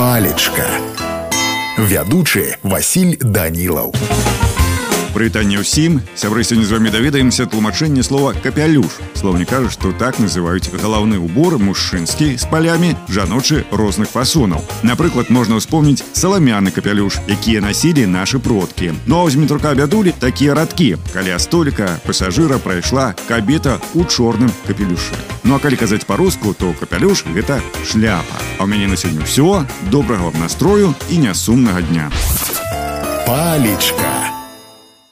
Палечка. Вядучы Васіль Данілаў. Прывітанне ўсім. Сябры, сёння з вамі даведаемся тлумачэнне слова «капялюш». Слоўнік кажа, што так называюць галаўны ўбор мужчынскі з палямі, жаночы розных фасонаў. Напрыклад, можна ўспомніць саламяны капялюш, якія насілі нашы продкі. Ну а ў змітрука бядулі такія радкі. Каля століка пасажыра прайшла кабета ў чорным капелюшы. Ну а калі казаць па-руску, то капялюш – гэта шляпа. А ў мяне на сёння ўсё. Добрага вам настрою і нясумнага дня. Палечка.